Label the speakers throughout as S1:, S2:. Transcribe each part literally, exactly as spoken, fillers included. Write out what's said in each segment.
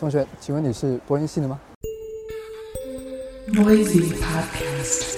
S1: 同学，请问你是播音系的吗？
S2: Noisy Podcast。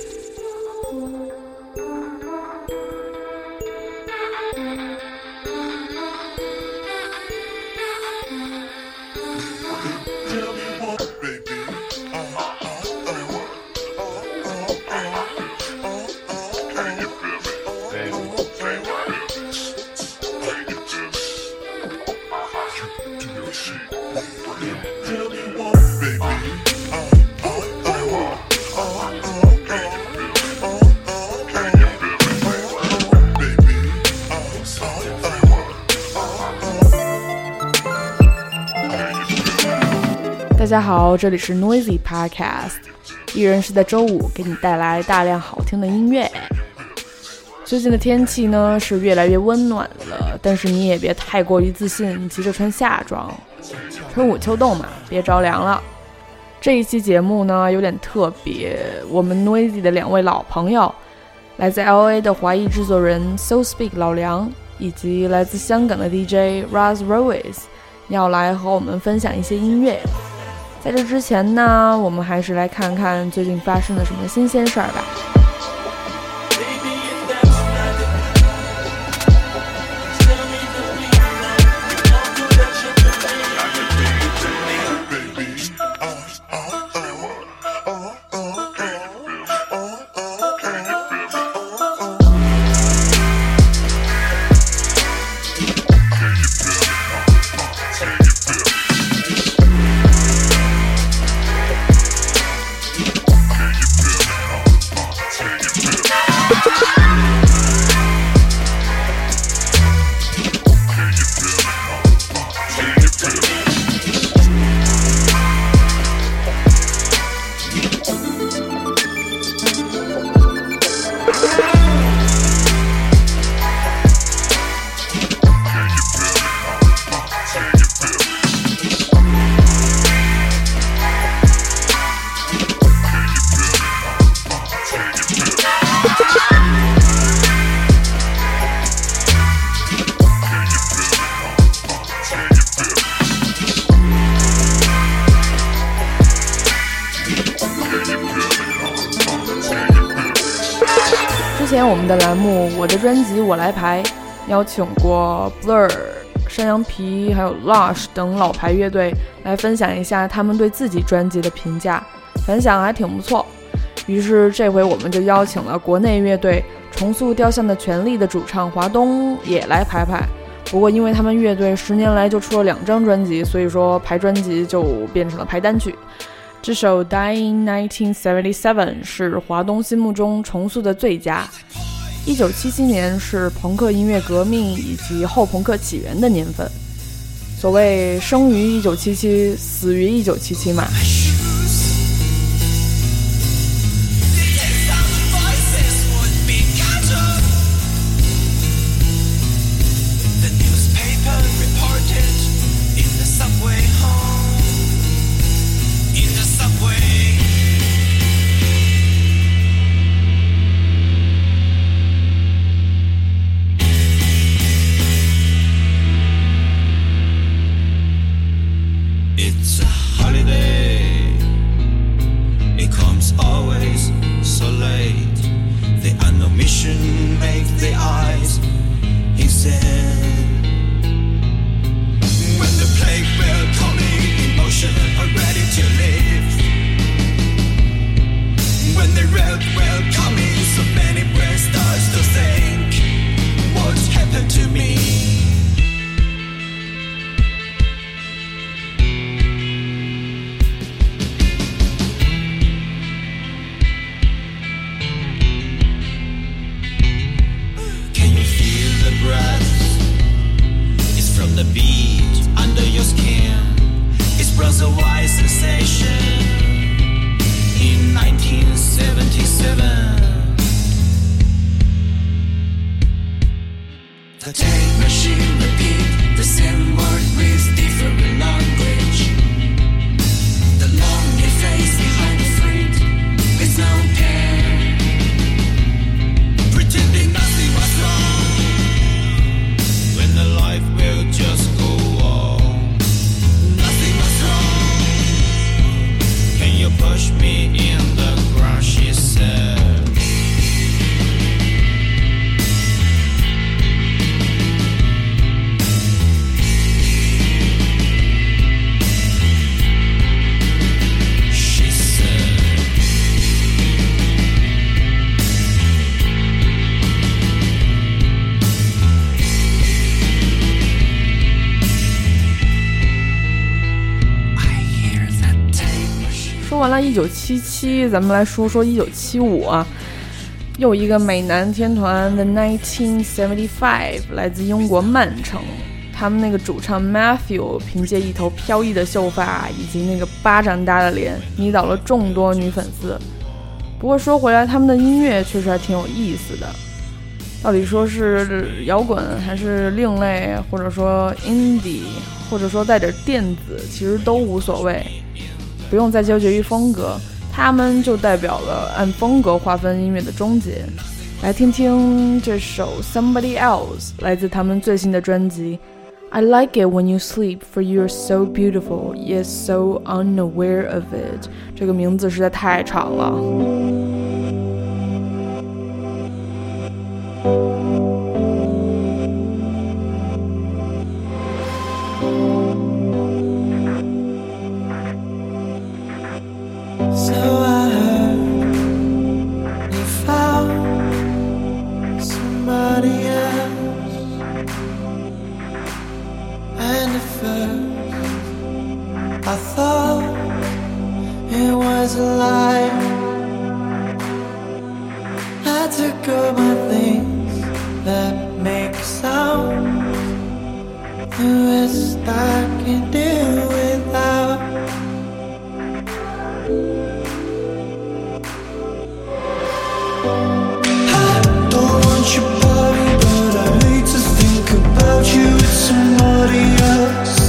S2: 大家好，这里是 Noisy Podcast， 一人是在周五给你带来大量好听的音乐。最近的天气呢是越来越温暖了，但是你也别太过于自信，急着穿夏装。春捂秋冻嘛，别着凉了。这一期节目呢有点特别，我们 Noisy 的两位老朋友，来自 L A 的华裔制作人 So Speak 老梁，以及来自香港的 D J Raz Royce 要来和我们分享一些音乐。在这之前呢，我们还是来看看最近发生了什么新鲜事儿吧。之前我们的栏目我的专辑我来排邀请过 Blur、 山羊皮还有 Lush 等老牌乐队来分享一下他们对自己专辑的评价，反响还挺不错。于是这回我们就邀请了国内乐队重塑雕像的权利的主唱华东也来排排，不过因为他们乐队十年来就出了两张专辑，所以说排专辑就变成了排单曲。这首 Dying nineteen seventy-seven 是华东心目中重塑的最佳。一九七七年是朋克音乐革命以及后朋克起源的年份，所谓生于一九七七，死于一九七七嘛。
S3: It's a holiday. It comes always so late. The unknown mission makes the eyes insane. When the plague will calling emotion are ready to live. When the road will coming, so many brains starts to think, what's happened to me?
S2: 完了一九七七，咱们来说说一九七五啊，又一个美男天团 The nineteen seventy-five 来自英国曼城，他们那个主唱 Matthew 凭借一头飘逸的秀发以及那个巴掌大的脸迷倒了众多女粉丝。不过说回来，他们的音乐确实还挺有意思的，到底说是摇滚还是另类，或者说 indie， 或者说带点电子，其实都无所谓，不用再纠结于风格，他们就代表了按风格划分音乐的终结。来听听这首 Somebody Else， 来自他们最新的专辑 I like it when you sleep for you're so beautiful yet so unaware of it， 这个名字实在太长了。
S3: I thought it was a lie. I took all my things that make sound. The rest I can do without. I don't want your body, but I hate to think about you with somebody else.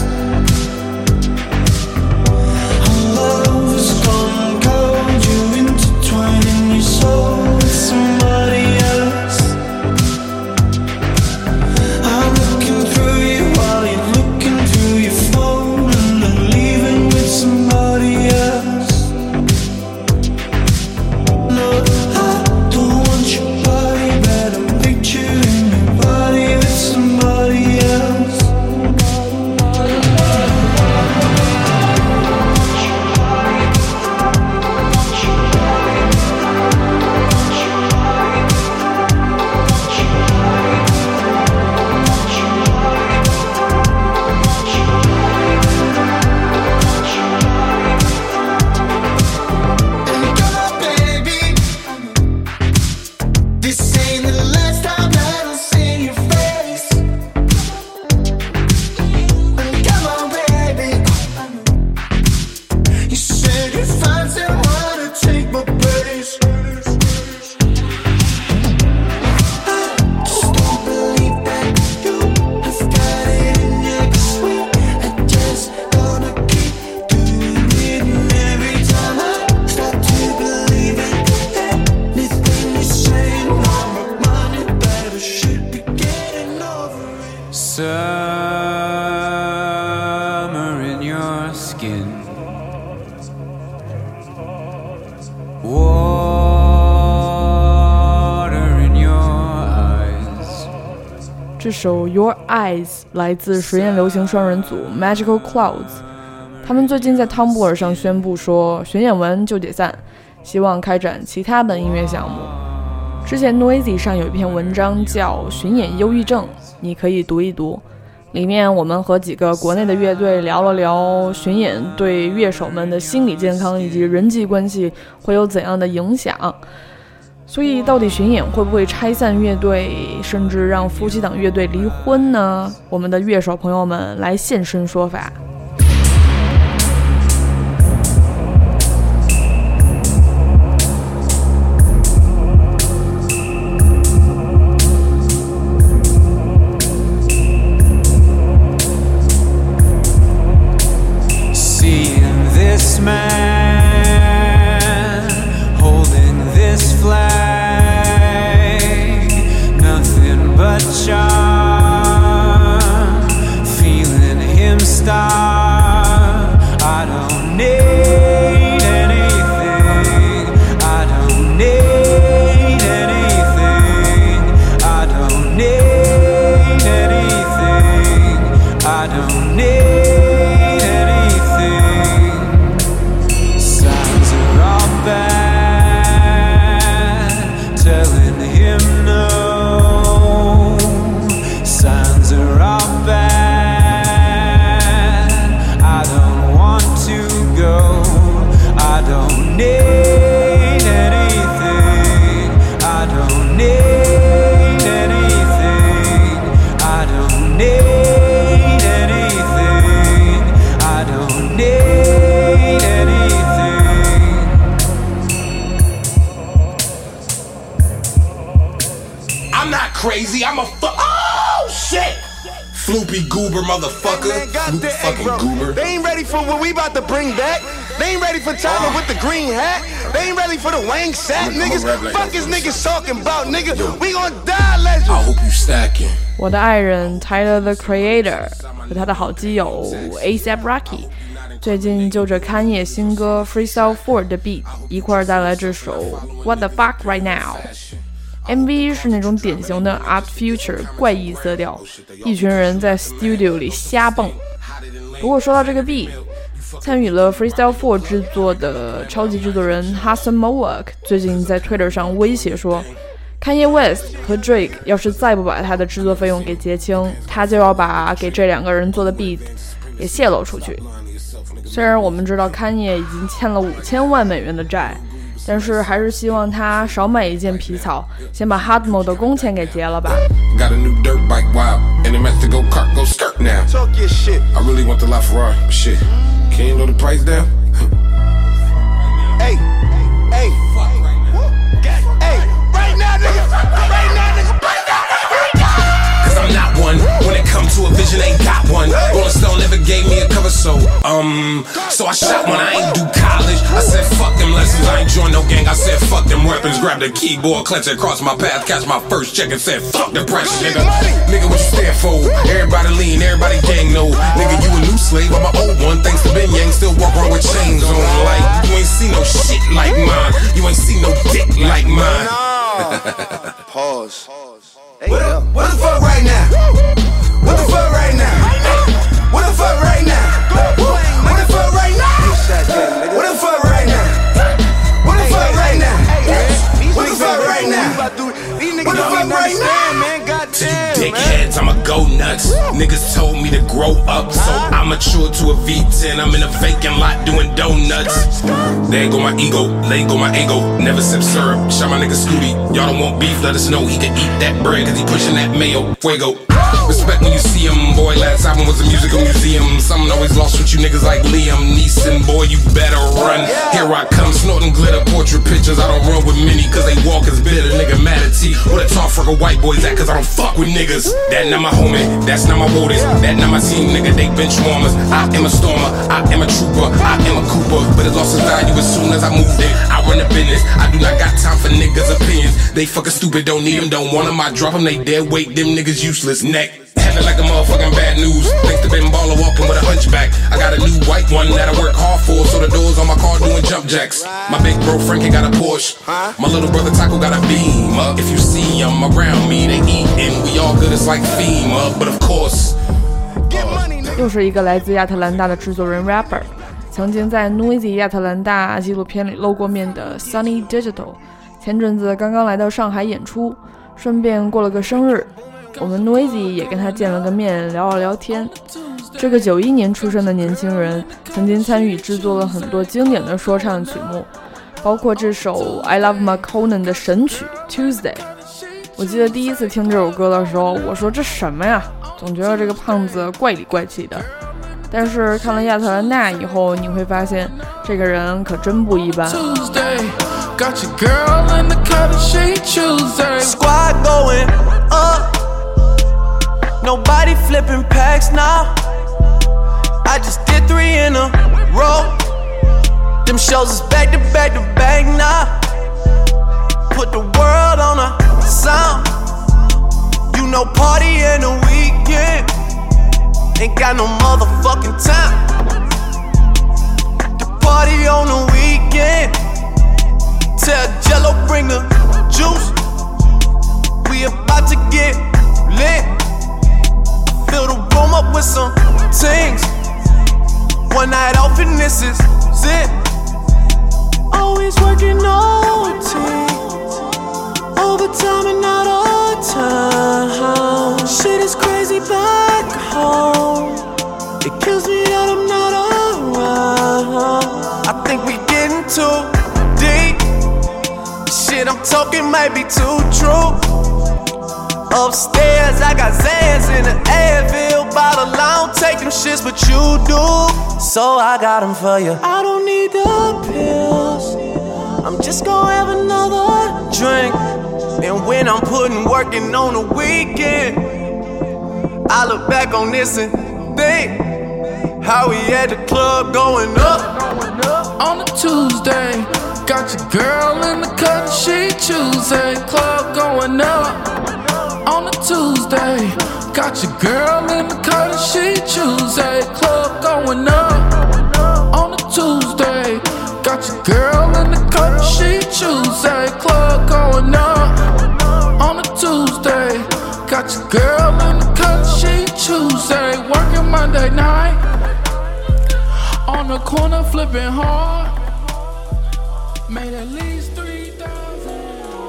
S3: Summer in your skin, water in your eyes。
S2: 这首 Your Eyes 来自实验流行双人组 Magical Clouds， 他们最近在汤布尔上宣布说巡演完就解散，希望开展其他的音乐项目。之前 Noisy 上有一篇文章叫巡演忧郁症，你可以读一读，里面我们和几个国内的乐队聊了聊巡演对乐手们的心理健康以及人际关系会有怎样的影响。所以到底巡演会不会拆散乐队，甚至让夫妻档乐队离婚呢？我们的乐手朋友们来现身说法。
S4: Floopy goober motherfucker.
S5: Man,
S4: Floop
S5: goddamn, hey,
S4: fucking
S5: bro.
S4: goober.
S5: They ain't ready for what we about to bring back. They ain't ready for Tyler with the green hat. They ain't ready for the Wang Sat
S4: I'ma- I'ma
S5: niggas.
S4: rap like
S5: Fuck
S4: that
S5: is
S4: for a
S5: niggas
S4: second.
S5: talking about, nigga.
S4: Yo.
S5: We gon' die, legend.
S4: I hope you stacking.
S2: 我的爱人 Tyler the Creator 和他的好基友 A$AP Rocky 最近就着Kanye野新歌 Freestyle four 的 beat 一块儿带来这首 What the fuck right now。 M V 是那种典型的 Art Future 怪异色调，一群人在 studio 里瞎蹦。不过说到这个 beat， 参与了 Freestyle four 制作的超级制作人 Hassan Mawak 最近在 Twitter 上威胁说Kanye West 和 Drake 要是再不把他的制作费用给结清，他就要把给这两个人做的 beat 也泄露出去。虽然我们知道 Kanye 已经欠了五千万美元的债，但是还是希望他少买一件皮草，先把 Hotmo 的工钱给结了吧。
S4: Got a new dirt bike, wow. And it meant to go kart, go skirt now.
S5: Talk your shit.
S4: I really want the LaFerrari, but shit. Can you lower the price down?
S5: Hey, hey, hey, right now, nigga. Right now, nigga. Right now, nigga.
S4: Cause I'm not one. When it comes to a vision, ain't got one. Rolling Stone never gave me a cover, so um, so I shot one. I ain't do college. I said fuck them lessons. I ain't join no gang. I said fuck them weapons. Grab the keyboard, clench it across my path, catch my first check and said fuck the pressure, nigga. Nigga, what you stand for? Everybody lean, everybody gang no. Nigga, you a new slave. I'm an old one. Thanks to Ben Yang, still walk around with chains on. Like you ain't see no shit like mine. You ain't see no dick like mine.
S5: Pause. Hey,
S4: What,
S5: yo.
S4: what the fuck right now? What the fuck right now? What the fuck right now? What the fuck right now? What the fuck right now? What the fuck right now? What the fuck right now?
S5: These niggas
S4: What the
S5: don't
S4: fuck
S5: even
S4: right
S5: understand,
S4: now?
S5: man. Goddamn, man.
S4: Dickheads, I'ma go nuts. Niggas told me to grow up, so I matured to a V ten. I'm in a vacant lot doing donuts. There go my ego, there go my ego. Never sip syrup, shot my nigga Scooty. Y'all don't want beef, let us know he can eat that bread, cause he pushing that mayo. Fuego. Respect when you see him, boy. Last album was a musical museum. Something always lost with you niggas like Liam Neeson. Boy, you better run. Here I come, snorting glitter portrait pictures. I don't run with many, cause they walk as bitter. Nigga mad at T. Where the tall freckle white boys at, cause I don't fuck with niggas. That not my homie, that's not my warders. That not my team, nigga, they bench warmers. I am a stormer, I am a trooper, I am a Cooper. But it lost its value as soon as I moved in. I run the business, I do not got time for niggas' opinions. They fucking stupid, don't need them, don't want them. I drop them, they dead weight, them niggas useless. Neck. Handle like a motherfucking bad news. Thanks to Ben Baller walking with a hunchback. I got a new white one that I work hard for, so the doors on my car doing jump jacks. My big bro Frankie got a Porsche. My little brother Taco got a Beamer. If you see them around me, they eating. We all good, it's like FEMA. But of course,
S5: Get money, nigga.
S2: 又是一个来自亚特兰大的制作人 rapper， 曾经在 Noisy 亚特兰大纪录片里露过面的 Sunny Digital， 前阵子刚刚来到上海演出，顺便过了个生日，我们 Noisy 也跟他见了个面，聊了聊天。这个九一年出生的年轻人，曾经参与制作了很多经典的说唱曲目，包括这首 I Love McConan 的神曲 Tuesday。 我记得第一次听这首歌的时候，我说这什么呀，总觉得这个胖子怪里怪气的。但是看了亚特兰大以后，你会发现这个人可真不一般。
S6: Tuesday, got your girl in the cut and she Tuesday.
S7: Squad going up. Nobody flipping packs now. I just did three in a row. Them shows is back to back to back now. Put the world on a sound. You know party in the weekend. Ain't got no motherfucking time. The party on the weekend. Tell Jello bring the juice. We about to get lit. Fill the room up with some things. One night off and this is it. Always working O T. Overtime and not all time. Shit is crazy back home. It kills me that I'm not around. I think we getting too deep. Shit I'm talking might be too true. Upstairs, I got Zans in the Advil bottle. I don't take them shits, but you do. So I got them for you. I don't need the pills. I'm just gonna have another drink. And when I'm putting working on the weekend, I look back on this and think how we at the club going up.
S6: On a Tuesday, got your girl in the cut, she Tuesday, club going up. On a Tuesday, got your girl in the cut, she Tuesday, club going up. On a Tuesday, got your girl in the cut, she Tuesday, club going up. On a Tuesday, got your girl in the cut, she Tuesday, working Monday night. On the corner flipping hard, made at least three thousand.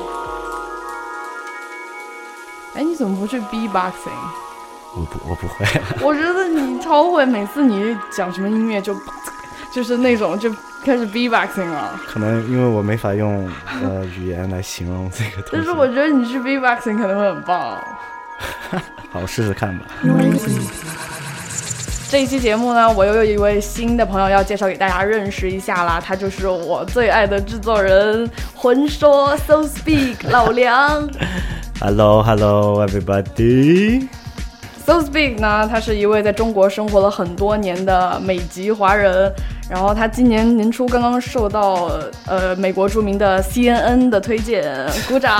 S2: 哎，你怎么不去 B-boxing？
S8: 我不，我不会。
S2: 我觉得你超会，每次你讲什么音乐就就是那种就开始 B-boxing 了。
S8: 可能因为我没法用呃语言来形容这个东西。
S2: 但是我觉得你去 B-boxing 可能会很棒。
S8: 好，我试试看吧。
S2: 这一期节目呢，我又有一位新的朋友要介绍给大家认识一下啦，他就是我最爱的制作人魂说 So Speak 老梁。
S8: Hello, hello, everybody.
S2: So Speak 呢，他是一位在中国生活了很多年的美籍华人，然后他今年年初刚刚受到呃美国著名的 C N N 的推荐，鼓掌。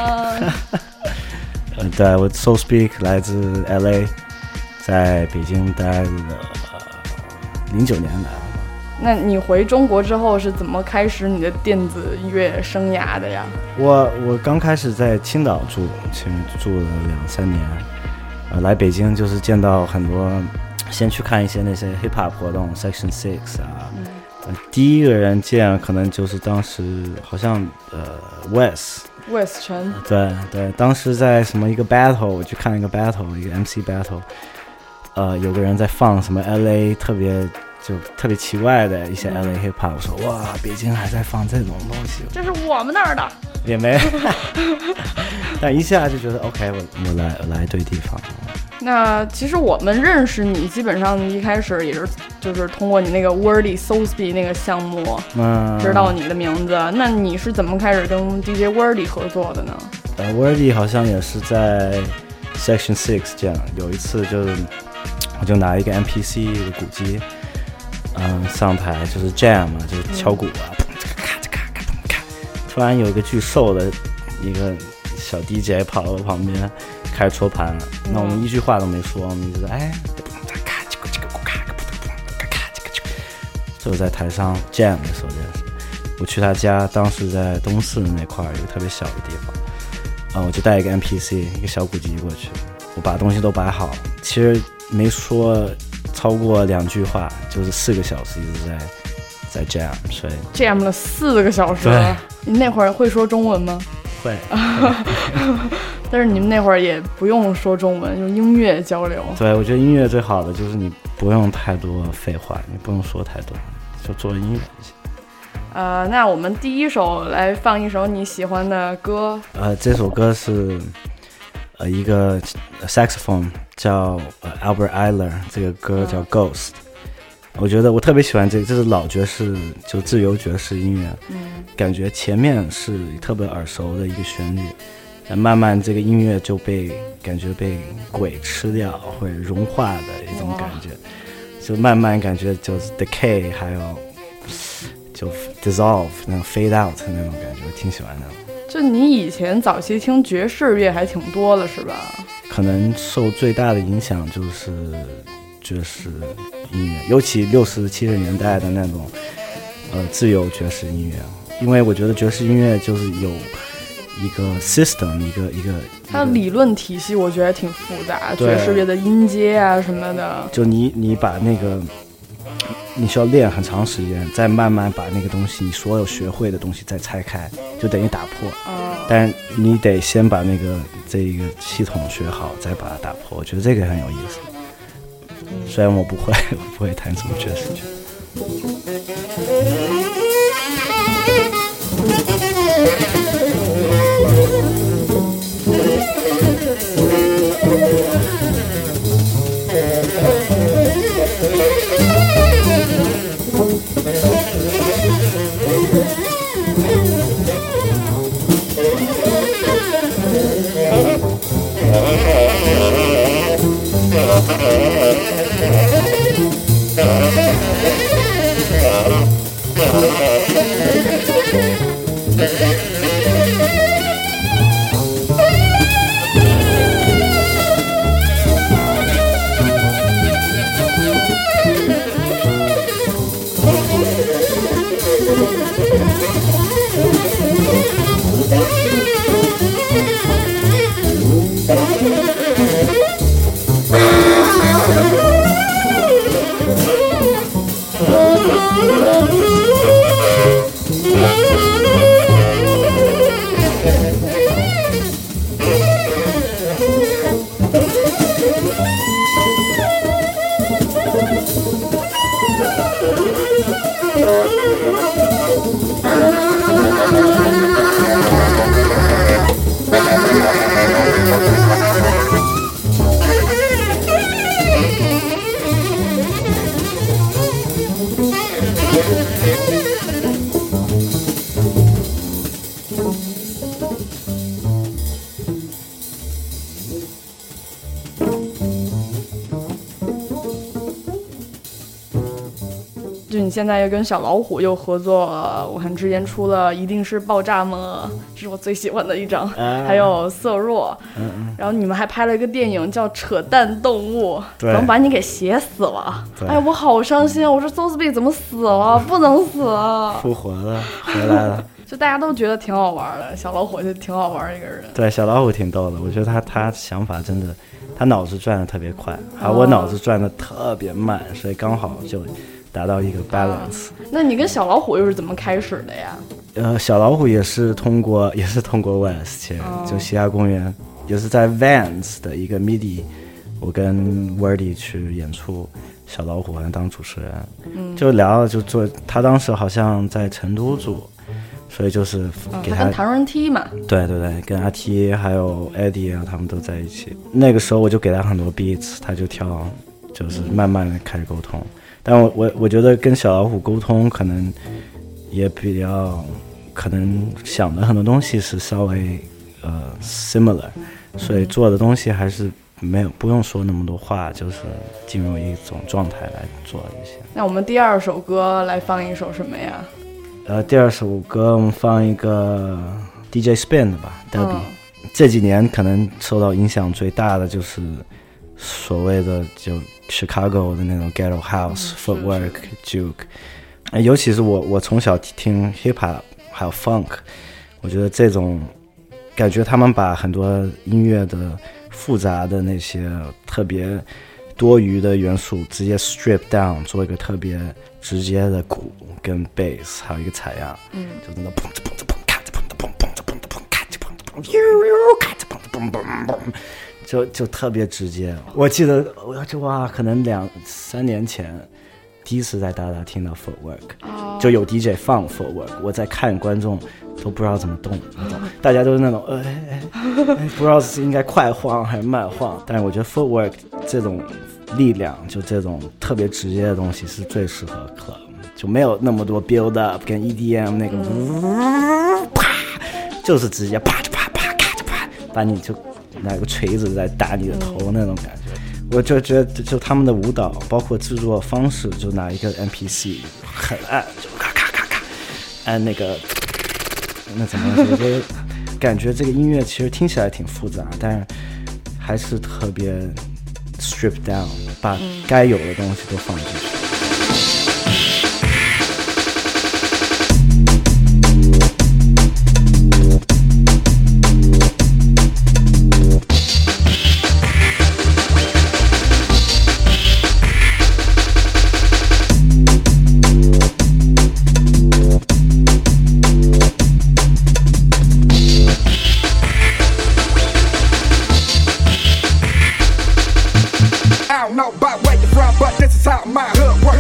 S8: 呃，对，我 So Speak 来自 L A， 在北京待了零九年来了。
S2: 那你回中国之后是怎么开始你的电子乐生涯的呀？
S8: 我我刚开始在青岛住，前面住了两三年，呃，来北京就是见到很多，先去看一些那些 hip hop 活动 ，Section Six 啊，嗯呃，第一个人见可能就是当时好像呃 Wes
S2: Wes 陈，
S8: 对对，当时在什么一个 battle， 我去看一个 battle， 一个 M C battle， 呃，有个人在放什么 L A 特别。就特别奇怪的一些 L A hip hop， 我说哇，北京还在放这种东西，
S2: 这是我们那儿的，
S8: 也没，但一下就觉得 OK， 我我来我来对地方。
S2: 那其实我们认识你，基本上一开始也是就是通过你那个 Wordy So Speak 那个项目，嗯，知道你的名字。那你是怎么开始跟 D J Wordy 合作的呢？
S8: 呃 ，Wordy 好像也是在 Section Six 这样，有一次就是我就拿一个 M P C 一个鼓机。嗯，上台就是 jam 嘛，就是敲鼓啊，砰这个咔这咔咔砰咔。突然有一个巨瘦的一个小 D J 跑到我旁边，开始戳盘。嗯、那我们一句话都没说，我们就说哎，咔这个这个咕咔咔砰咔咔这个这个。就在台上 jam 的时候认识。我去他家，当时在东四那块有一个特别小的地方，啊、呃，我就带一个 M P C 一个小鼓机过去，我把东西都摆好，其实没说。超过两句话，就是四个小时一直在在 jam， 所以
S2: jam 了四个小时。你那会儿会说中文吗？
S8: 会。
S2: 但是你们那会儿也不用说中文，用音乐交流。
S8: 对，我觉得音乐最好的就是你不用太多废话，你不用说太多，就做音乐就行。
S2: 呃，那我们第一首来放一首你喜欢的歌。
S8: 呃，这首歌是呃一个 saxophone。叫、呃、Albert Ayler， 这个歌叫 Ghost，、嗯、我觉得我特别喜欢这个，这是老爵士，就自由爵士音乐，嗯，感觉前面是特别耳熟的一个旋律，但慢慢这个音乐就被感觉被鬼吃掉或者融化的一种感觉，就慢慢感觉就是 decay， 还有就 dissolve 那种 fade out 那种感觉，我挺喜欢的。
S2: 就你以前早期听爵士乐还挺多的是吧？
S8: 可能受最大的影响就是爵士音乐，尤其六十七十年代的那种呃自由爵士音乐，因为我觉得爵士音乐就是有一个 system， 一个一个
S2: 它的理论体系，我觉得挺复杂，爵士乐的音阶啊什么的。
S8: 就你你把那个你需要练很长时间，再慢慢把那个东西你所有学会的东西再拆开，就等于打破。嗯，但是你得先把那个这一个系统学好，再把它打破。我觉得这个很有意思。虽然我不会，我不会弹什么爵士乐。
S2: 就你现在又跟小老虎又合作了，我看之前出了《一定是爆炸吗》，这是我最喜欢的一张，啊、还有《色弱》嗯嗯，然后你们还拍了一个电影叫《扯淡动物》，怎么把你给写死了？哎呀，我好伤心啊！我说 Sotheby 怎么死了？不能死啊！
S8: 复活了，回来了。
S2: 就大家都觉得挺好玩的，小老虎就挺好玩一个人。
S8: 对，小老虎挺逗的，我觉得他他想法真的，他脑子转的特别快，而我脑子转的特别慢，所以刚好就达到一个 balance、啊。
S2: 那你跟小老虎又是怎么开始的呀？
S8: 呃，小老虎也是通过也是通过 West 去、哦，就嘻哈公园，也是在 Vans 的一个 midi， 我跟 Wordy 去演出，小老虎好像当主持人，嗯，就聊就做，他当时好像在成都住。所以就是给他、
S2: 哦、跟唐人 T 嘛，
S8: 对对对，跟阿 T 还有 Eddie 啊，他们都在一起。那个时候我就给他很多 beats， 他就跳，就是慢慢的开始沟通。但我我我觉得跟小老虎沟通可能也比较，可能想的很多东西是稍微呃 similar， 所以做的东西还是没有不用说那么多话，就是进入一种状态来做一些。
S2: 那我们第二首歌来放一首什么呀？
S8: 呃，第二首歌我们放一个 D J Spin 的吧 Derby、嗯、这几年可能受到影响最大的就是所谓的就 Chicago 的那种 Ghetto House、嗯、Footwork Juke， 尤其是我我从小听 Hip Hop 还有 Funk， 我觉得这种感觉他们把很多音乐的复杂的那些特别多余的元素直接 strip down， 做一个特别直接的鼓跟 bass， 还有一个采样，嗯，就那种砰砰砰砰咔嚓砰砰砰砰砰砰咔嚓砰砰砰，咔嚓砰砰砰砰，就就特别直接。我记得我就哇，可能两三年前第一次在大大听到 footwork，、oh. 就有 D J 放 footwork， 我在看观众都不知道怎么动，大家都是那种呃、哎哎，不知道是应该快晃还是慢晃。但是我觉得 footwork 这种力量，就这种特别直接的东西是最适合 club， 就没有那么多 build up 跟 E D M 那个、嗯、啪，就是直接啪啪啪咔嚓啪，把你就拿个锤子在打你的头那种感觉。我就觉得就他们的舞蹈包括制作方式，就拿一个 M P C 很按，就咔咔咔咔按那个，那怎么说，就感觉这个音乐其实听起来挺复杂，但是还是特别 strip down， 把该有的东西都放进去。
S5: Know about where you're from, but this is how my hood works.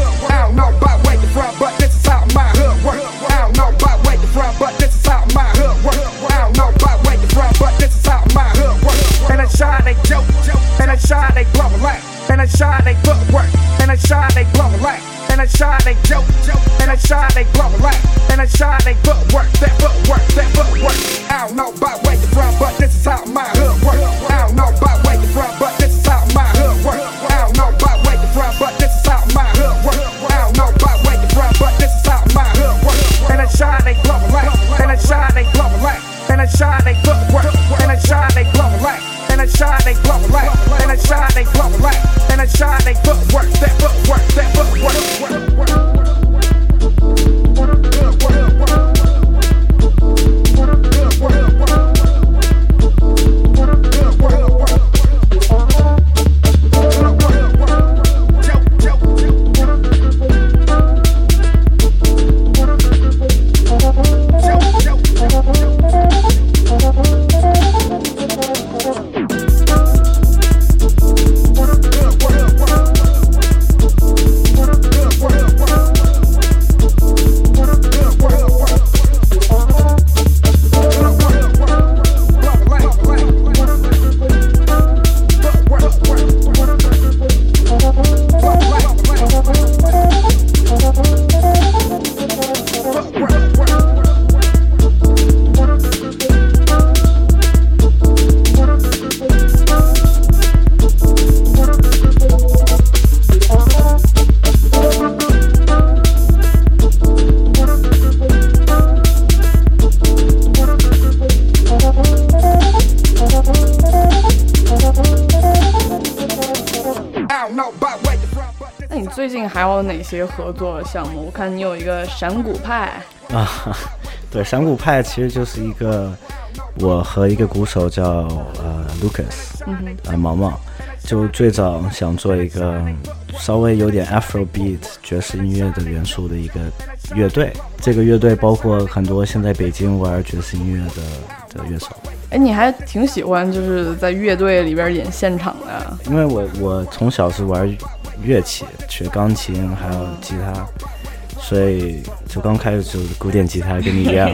S2: 还有哪些合作项目？我看你有一个闪鼓派
S8: 啊，对，闪鼓派其实就是一个我和一个鼓手叫呃 Lucas，
S2: 嗯哼，
S8: 呃毛毛，就最早想做一个稍微有点 Afrobeat 爵士音乐的元素的一个乐队。这个乐队包括很多现在北京玩爵士音乐的的乐手。
S2: 哎，你还挺喜欢就是在乐队里边演现场的？
S8: 因为我我从小是玩乐器，学钢琴还有吉他，所以就刚开始就是古典吉他，跟你一样，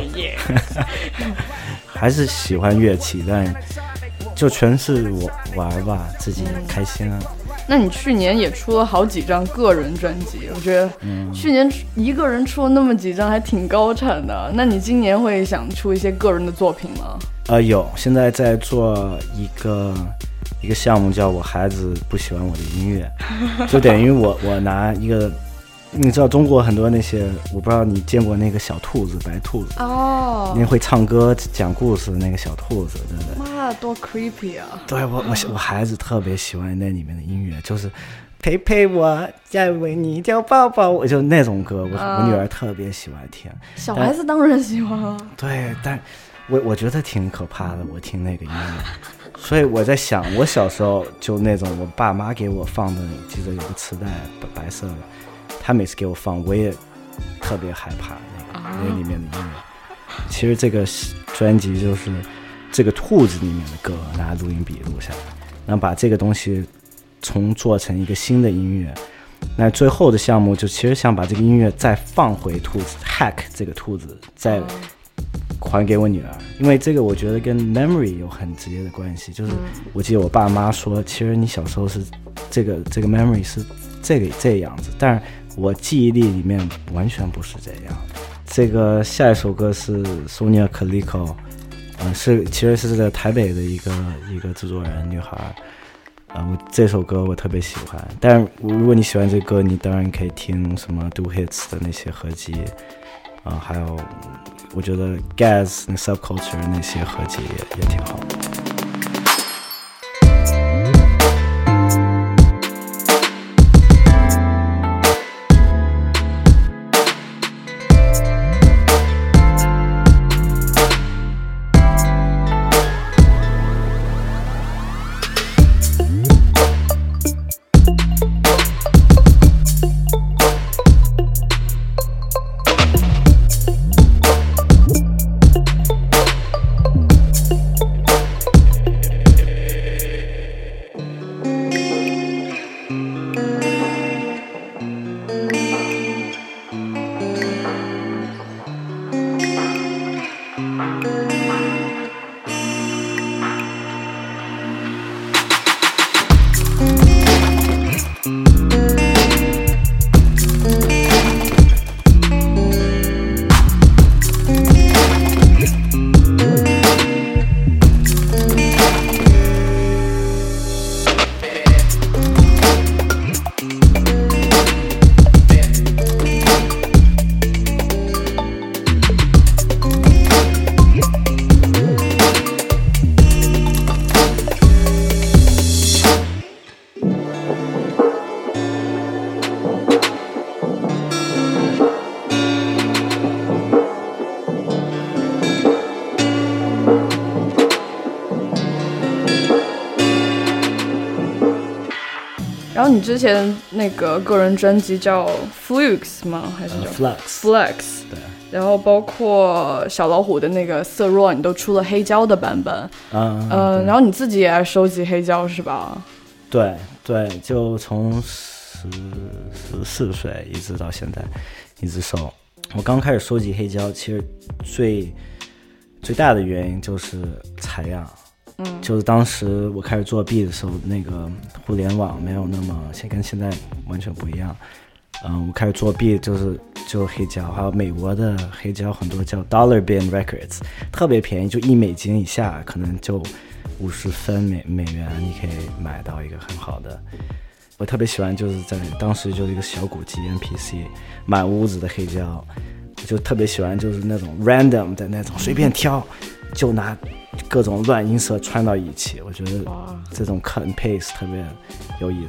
S8: 还是喜欢乐器，但就全是我玩吧，自己开心啊。
S2: 那你去年也出了好几张个人专辑，我觉得去年一个人出了那么几张还挺高产的。那你今年会想出一些个人的作品吗？
S8: 呃，有，现在在做一个一个项目，叫我孩子不喜欢我的音乐，就等于我我拿一个，你知道中国很多那些，我不知道你见过那个小兔子，白兔子
S2: 哦，
S8: 那会唱歌讲故事的那个小兔子，对不对？
S2: 妈，多 creepy 啊！
S8: 对我我我孩子特别喜欢那里面的音乐，就是陪陪我，再为你叫抱抱，我就那种歌，我、啊、我女儿特别喜欢听。
S2: 小孩子当然喜欢了。
S8: 对，但我我觉得挺可怕的，我听那个音乐，所以我在想，我小时候就那种我爸妈给我放的，记得有个磁带白色的，他每次给我放，我也特别害怕那个、啊、那里面的音乐。其实这个专辑就是这个兔子里面的歌，拿录音笔录下来，然后把这个东西重做成一个新的音乐。那最后的项目就其实想把这个音乐再放回兔子 hack 这个兔子，再还给我女儿，因为这个我觉得跟 memory 有很直接的关系。就是我记得我爸妈说，其实你小时候是这个这个 memory 是这个这个样子，但是我记忆力里面完全不是这样。这个下一首歌是 Sonia Calico， 呃，是其实是在台北的一个一个制作人女孩，呃，我这首歌我特别喜欢。但是如果你喜欢这个歌，你当然可以听什么 Do Hits 的那些合集，啊、呃，还有我觉得 Gaz 那 Subculture 那些合集也也挺好的。
S2: 然后你之前那个个人专辑叫 Flux 吗？还是叫、
S8: uh, Flux
S2: Flux 对。然后包括小老虎的那个色弱，你都出了黑胶的版本。嗯、呃、然后你自己也爱收集黑胶是吧？
S8: 对对，就从十十四岁一直到现在一直收。我刚开始收集黑胶，其实最最大的原因就是采样。嗯，就是当时我开始做 beat 的时候，那个互联网没有那么，现跟现在完全不一样。嗯，我开始做 beat 就是就黑胶，还有美国的黑胶很多叫 Dollar Bin Records， 特别便宜，就一美金以下，可能就五十分美美元，你可以买到一个很好的。我特别喜欢就是在当时就是一个小鼓机 M P C， 满屋子的黑胶，我就特别喜欢就是那种 random 的那种随便挑，就拿各种乱音色串到一起，我觉得这种 cut and paste 特别有意思。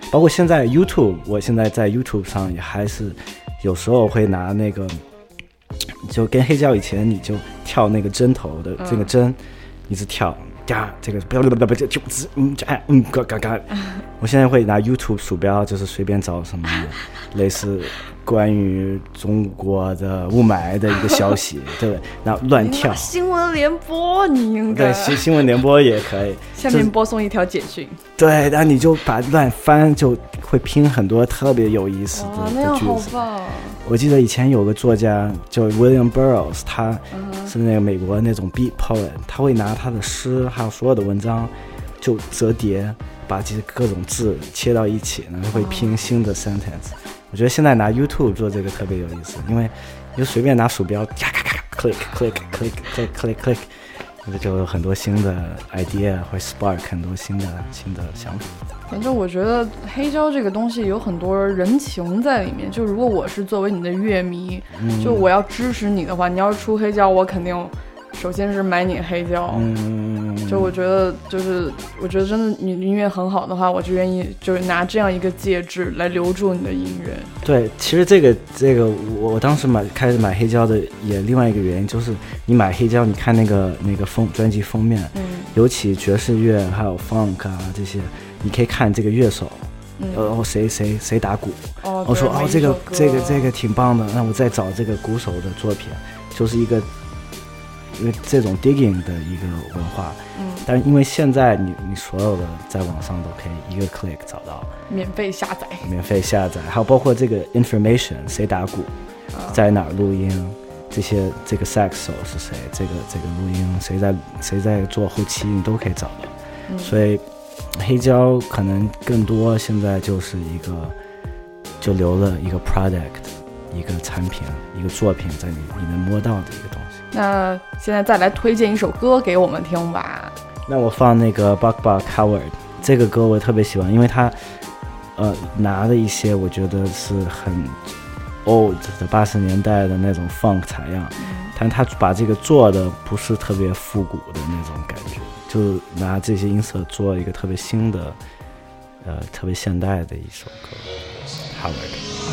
S8: 包括现在 YouTube， 我现在在 YouTube 上也还是有时候会拿那个，就跟黑胶以前你就跳那个针头的这个针，一直跳。呀，这个不要不要不要就嗯哎嗯嘎嘎嘎，我现在会拿 YouTube 鼠标，就是随便找什么类似关于中国的雾霾的一个消息，对不对？然后乱跳。
S2: 新闻联播你应该。
S8: 对，新新闻联播也可以。
S2: 下面播送一条简讯。
S8: 对，然后你就把乱翻，就会拼很多特别有意思的
S2: 那样
S8: 句子。
S2: 好棒。
S8: 我记得以前有个作家叫 William Burroughs， 他是那个美国那种 beat poet， 他会拿他的诗还有所有的文章就折叠，把这些各种字切到一起，然后会拼新的 sentence。我觉得现在拿 YouTube 做这个特别有意思，因为你就随便拿鼠标咔咔咔 click click click click click click， 就有很多新的 idea， 会 spark 很多新的新的想法。
S2: 反正我觉得黑胶这个东西有很多人情在里面，就如果我是作为你的乐迷，嗯、就我要支持你的话，你要是出黑胶，我肯定首先是买你黑胶。嗯，就我觉得就是我觉得真的你音乐很好的话，我就愿意就是拿这样一个介质来留住你的音乐。
S8: 对，其实这个这个我我当时买开始买黑胶的也另外一个原因就是你买黑胶，你看那个那个封专辑封面，嗯，尤其爵士乐还有 funk 啊这些。你可以看这个乐手，嗯、哦谁谁谁打鼓，
S2: 哦、
S8: 我说哦这个这个这个挺棒的，那我再找这个鼓手的作品，就是一个因为这种 digging 的一个文化，嗯，但是因为现在你你所有的在网上都可以一个 click 找到，
S2: 免费下载，
S8: 免费下载，还有包括这个 information 谁打鼓，啊、在哪儿录音，这些这个 sax 手是谁，这个这个录音谁在谁在做后期，你都可以找到，嗯、所以。黑胶可能更多现在就是一个就留了一个 product 一个产品一个作品在你你能摸到的一个东西。
S2: 那现在再来推荐一首歌给我们听吧。
S8: 那我放那个 Buck Buck Howard 这个歌我特别喜欢，因为他呃拿了一些我觉得是很 old 的八十年代的那种 funk 采样，嗯、但他把这个做的不是特别复古的那种感觉，就拿这些音色做一个特别新的呃特别现代的一首歌 Howard。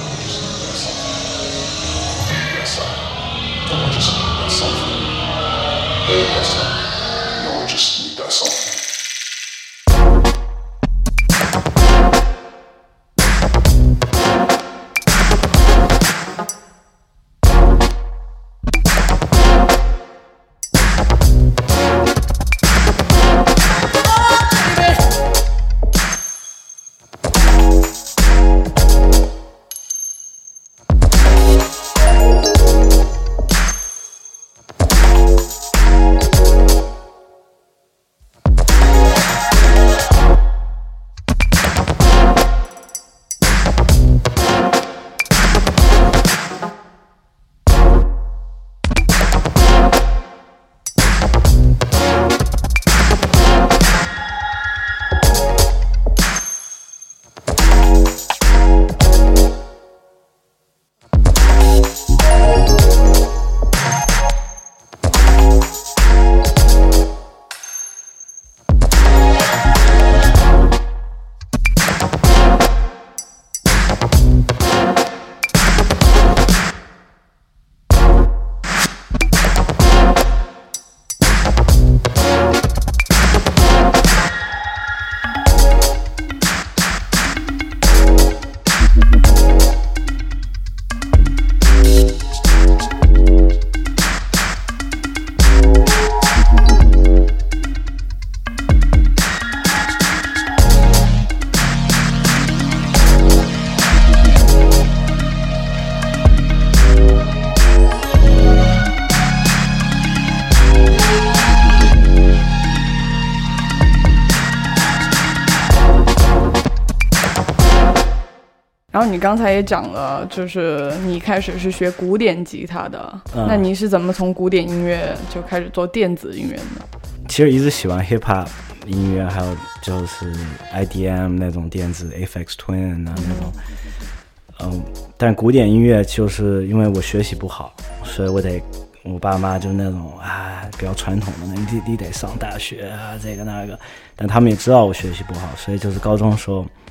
S2: 然后你刚才也讲了，就是你一开始是学古典吉他的，嗯、那你是怎么从古典音乐就开始做电子音乐呢？
S8: 其实一直喜欢 hip hop 音乐，还有就是 I D M 那种电子 Aphex Twin 啊那种，嗯，嗯但古典音乐就是因为我学习不好，所以我得我爸妈就那种啊比较传统的，你你得上大学啊这个那个，但他们也知道我学习不好，所以就是高中的时候。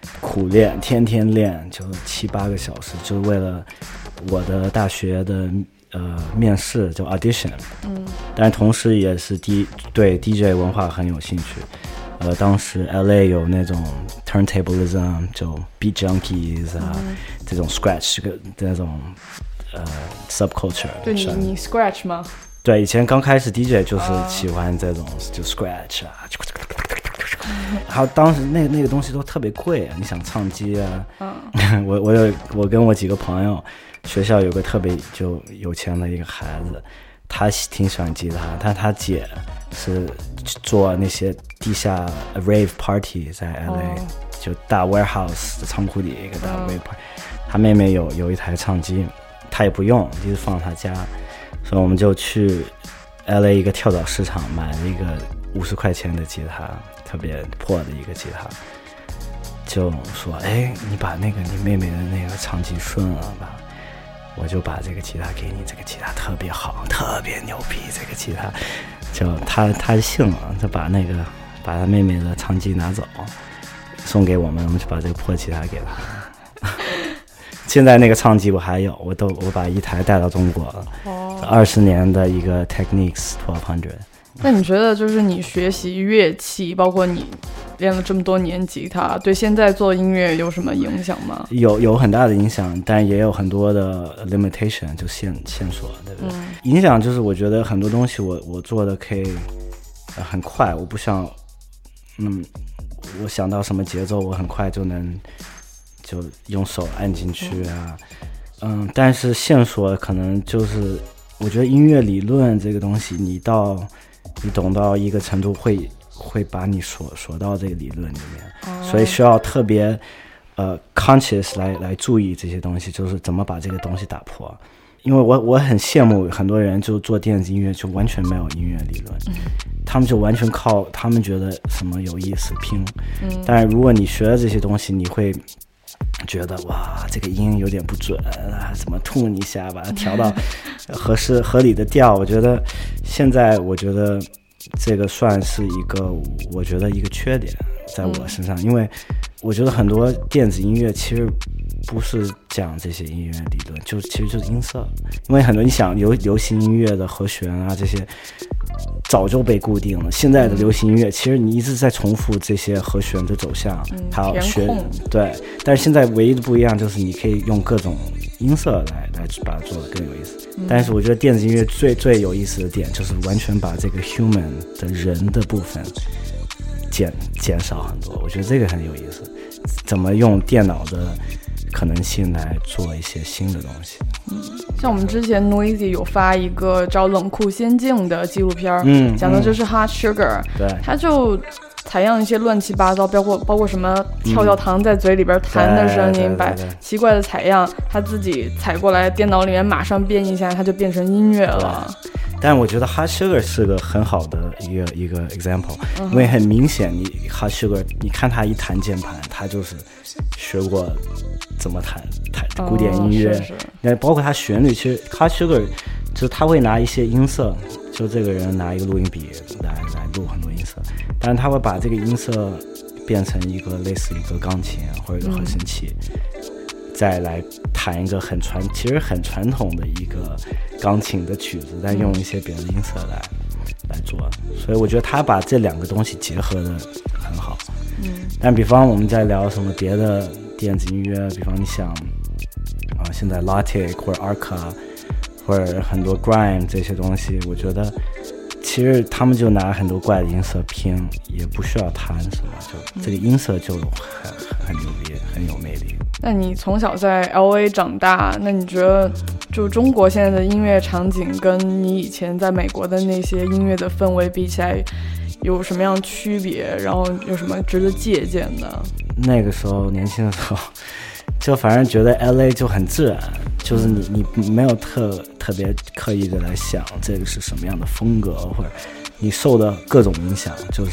S8: 苦练，天天练，就七八个小时，就是为了我的大学的呃面试，就 audition。嗯，但同时也是 D 对 D J 文化很有兴趣。呃，当时 L A 有那种 turntablism， 就 beat junkies 啊，嗯、这种 scratch 这个那种呃 subculture。
S2: 对你你 scratch 吗？
S8: 对，以前刚开始 D J 就是喜欢这种、uh, 就 scratch 啊，还有当时那那个东西都特别贵啊，你想唱机啊，嗯、我我有我跟我几个朋友，学校有个特别就有钱的一个孩子，他挺喜欢吉他，但他姐是做那些地下 rave party 在 L A，、哦、就大 warehouse 的仓库里一个大 rave party，、嗯、他妹妹有有一台唱机，他也不用，就是放他家。所以我们就去 L A 一个跳蚤市场买了一个五十块钱的吉他，特别破的一个吉他，就说：“哎，你把那个你妹妹的那个唱机顺了吧，我就把这个吉他给你，这个吉他特别好，特别牛逼，这个吉他。”就他他信了，就把那个把他妹妹的唱机拿走，送给我们，我们就把这个破吉他给他。现在那个唱机我还有，我都我把一台带到中国了。哦，二十年的一个 Technics twelve hundred。
S2: 那你觉得就是你学习乐器，包括你练了这么多年吉他，对现在做音乐有什么影响吗？
S8: 有有很大的影响，但也有很多的 limitation， 就限线索，对不对？嗯、影响就是我觉得很多东西我我做的可以、呃、很快，我不像嗯，我想到什么节奏，我很快就能。就用手按进去啊，嗯，但是线索可能就是，我觉得音乐理论这个东西，你到你懂到一个程度会，会把你锁锁到这个理论里面，哦、所以需要特别呃 conscious 来来注意这些东西，就是怎么把这个东西打破。因为我我很羡慕很多人就做电子音乐就完全没有音乐理论，嗯、他们就完全靠他们觉得什么有意思拼，嗯、但是如果你学了这些东西，你会。觉得哇，这个音有点不准啊，怎么吐一下把它调到合适合理的调？我觉得现在我觉得这个算是一个我觉得一个缺点在我身上，嗯、因为我觉得很多电子音乐其实不是讲这些音乐理论，就其实就是音色，因为很多你想流流行音乐的和弦啊这些。早就被固定了。现在的流行音乐，其实你一直在重复这些和弦的走向，
S2: 嗯、
S8: 还有学对。但是现在唯一的不一样就是你可以用各种音色来来把它做得更有意思。嗯、但是我觉得电子音乐最最有意思的点就是完全把这个 human 的人的部分减减少很多。我觉得这个很有意思，怎么用电脑的可能性来做一些新的东西。
S2: 嗯，像我们之前 Noisy 有发一个叫冷酷仙境的纪录片，
S8: 嗯，
S2: 讲的就是 Hot Sugar，
S8: 对，
S2: 他就采样一些乱七八糟，包括包括什么跳跳糖在嘴里边弹的声音，嗯、把奇怪的采样他自己采过来，电脑里面马上编一下，它就变成音乐了。
S8: 但我觉得 Hot Sugar 是个很好的一个一个 example，嗯、因为很明显，你 Hot Sugar， 你看他一弹键盘，他就是学过怎么弹弹古典音乐，那、哦、包括他旋律，其实 Hot Sugar 就是他会拿一些音色，就这个人拿一个录音笔来来录很多音色，但是他会把这个音色变成一个类似一个钢琴或者一个合成器。嗯再来弹一个很传，其实很传统的一个钢琴的曲子，但用一些别的音色来、嗯、来做，所以我觉得他把这两个东西结合的很好。嗯，但比方我们在聊什么别的电子音乐，比方你想啊，现在 Logic 或者 Arca 或者很多 Grime 这些东西，我觉得其实他们就拿很多怪的音色拼，也不需要弹什么，就这个音色就很很牛逼，很有魅力。
S2: 那你从小在 L A 长大，那你觉得就中国现在的音乐场景跟你以前在美国的那些音乐的氛围比起来有什么样区别，然后有什么值得借鉴的？
S8: 那个时候年轻的时候就反正觉得 L A 就很自然，就是你你没有特特别刻意的来想这个是什么样的风格，或者你受的各种影响，就是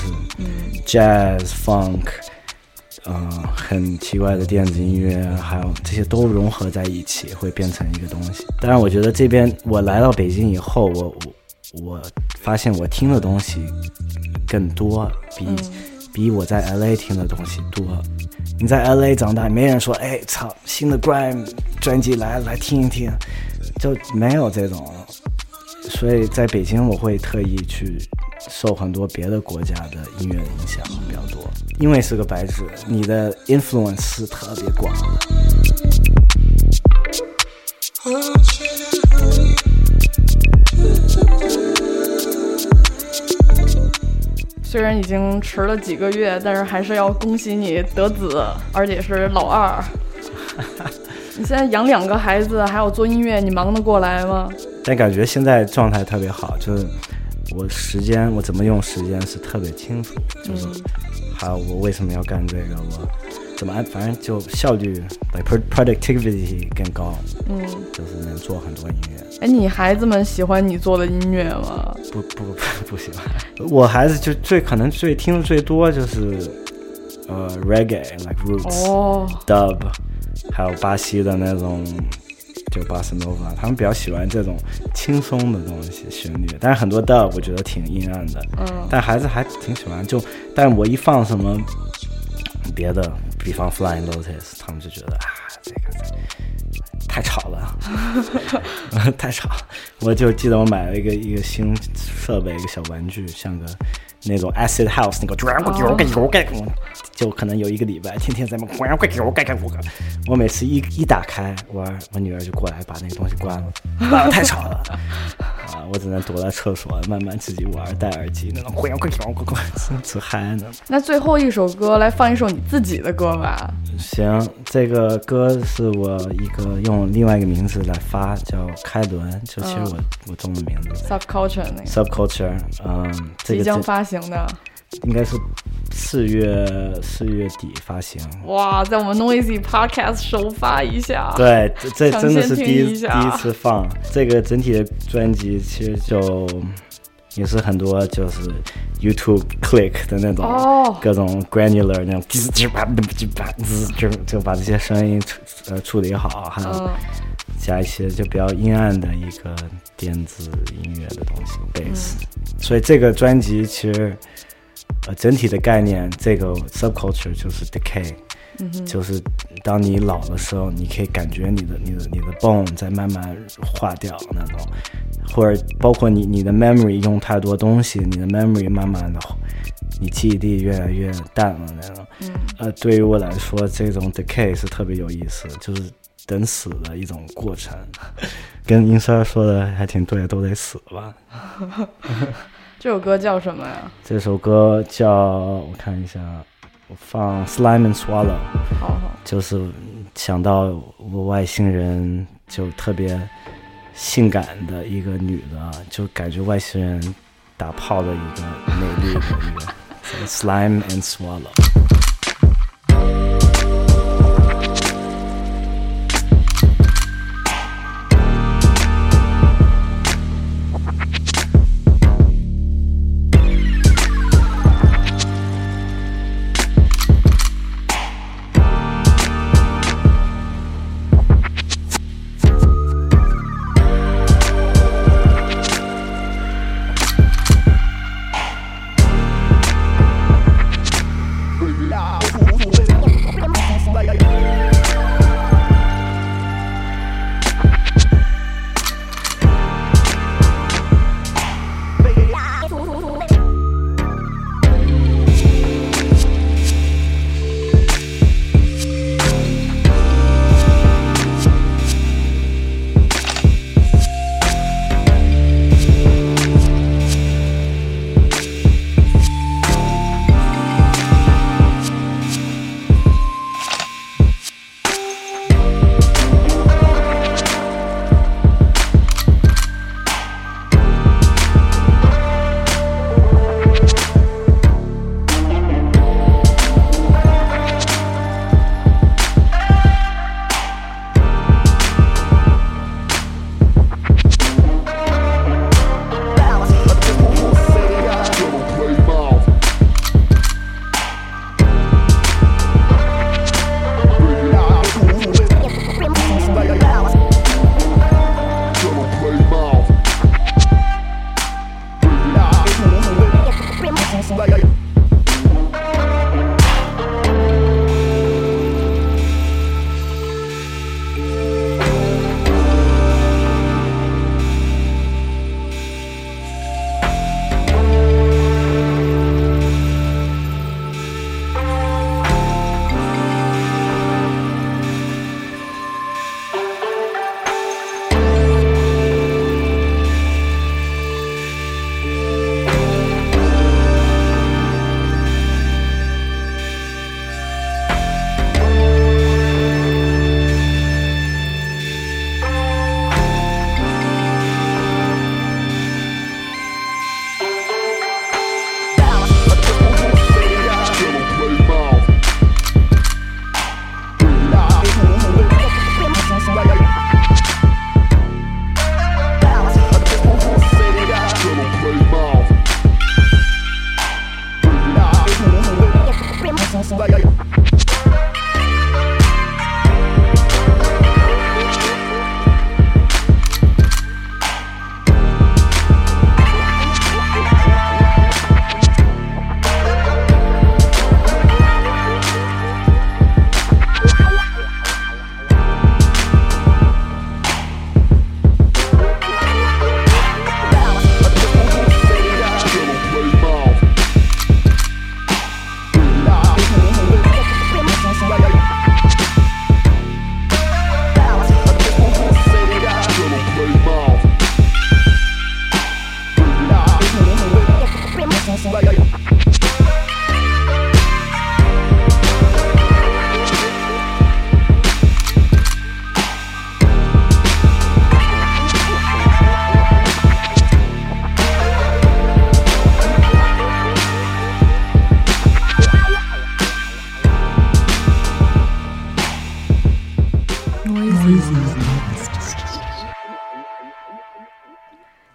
S8: jazz funk嗯、呃，很奇怪的电子音乐，还有这些都融合在一起，会变成一个东西。当然，我觉得这边我来到北京以后，我我我发现我听的东西更多，比、嗯、比我在 L A 听的东西多。 你在 L A 长大，没人说哎操新的 grime 专辑来来听一听，就没有这种。所以在北京我会特意去受很多别的国家的音乐的影响比较多，因为是个白纸，你的 influence 是特别广的。
S2: 虽然已经迟了几个月，但是还是要恭喜你得子，而且是老二。你现在养两个孩子，还有做音乐，你忙得过来吗？
S8: 但感觉现在状态特别好，就是我时间，我怎么用时间是特别清楚，就是还有我为什么要干这个，我怎么安，反正就效率 like productivity 更高，嗯，就是能做很多音乐。
S2: 哎，你孩子们喜欢你做的音乐吗？
S8: 不不不不喜欢，我孩子就最可能最听的最多就是呃 reggae like roots、哦、dub， 还有巴西的那种就巴斯诺瓦，他们比较喜欢这种轻松的东西旋律，但是很多 dub 我觉得挺阴暗的，嗯，但孩子还挺喜欢，就但我一放什么别的，比方 Flying Lotus， 他们就觉得啊这个太吵了太吵了。我就记得我买了一个一个新设备，一个小玩具，像个那种 acid house 那个、哦、就可能有一个礼拜天天在那我每次一一打开我我女儿就过来把那个东西关了，啊太吵了啊，我只能躲在厕所慢慢自己玩，戴耳机那种只嗨呢。
S2: 那最后一首歌来放一首你自己的歌吧。
S8: 行，这个歌是我一个用另外一个名字来发，叫开轮，就其实我、嗯、我中文名字
S2: Subculture 那个
S8: Subculture， 嗯，这个
S2: 即将发行的，
S8: 应该是四月四月底发行。
S2: 哇，在我们 Noisy Podcast 首发一下。
S8: 对，这真的是第一第一次放这个整体的专辑，其实就也是很多就是 YouTube click 的那种、哦、各种 granular 那种就就把这些声音呃处理好，还有加一些就比较阴暗的一个电子音乐的东西 bass、嗯、所以这个专辑其实呃整体的概念，这个 subculture 就是 decay、嗯、就是当你老的时候，你可以感觉你的你的你的 bone 在慢慢化掉那种，或者包括你你的 memory 用太多东西，你的 memory 慢慢的你记忆力越来越淡了那种、嗯、呃，对于我来说这种 decay 是特别有意思，就是等死的一种过程跟英三说的还挺对，都得死吧
S2: 这首歌叫什么呀？
S8: 这首歌叫我看一下，我放 Slime and Swallow，
S2: 好好，
S8: 就是想到我外星人就特别性感的一个女的，就感觉外星人打炮的一个美丽的一个Slime and Swallow。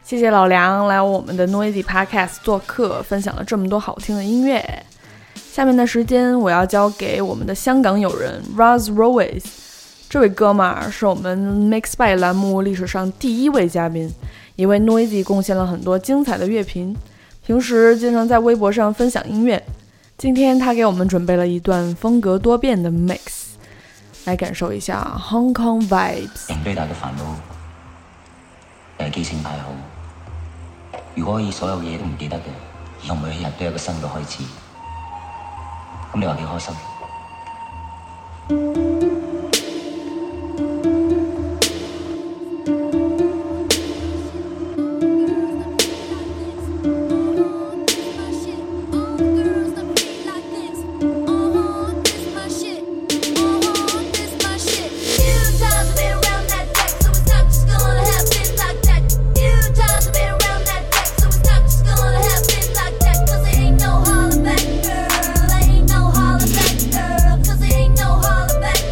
S2: 谢谢老梁来我们的 Noisy Podcast 做客，分享了这么多好听的音乐。下面的时间我要交给我们的香港友人 Raz Royce， 这位哥们儿是我们 Mix by 栏目历史上第一位嘉宾，也为 Noisy 贡献了很多精彩的乐评，平时经常在微博上分享音乐。今天他给我们准备了一段风格多变的 mix， 来感受一下 Hong Kong vibes。
S9: 人最大嘅煩惱就係記性太好，如果可以所有嘢都唔記得嘅，以後每一日都有個新嘅開始，咁你話幾開心？
S10: Back, girl, ain't no holler back.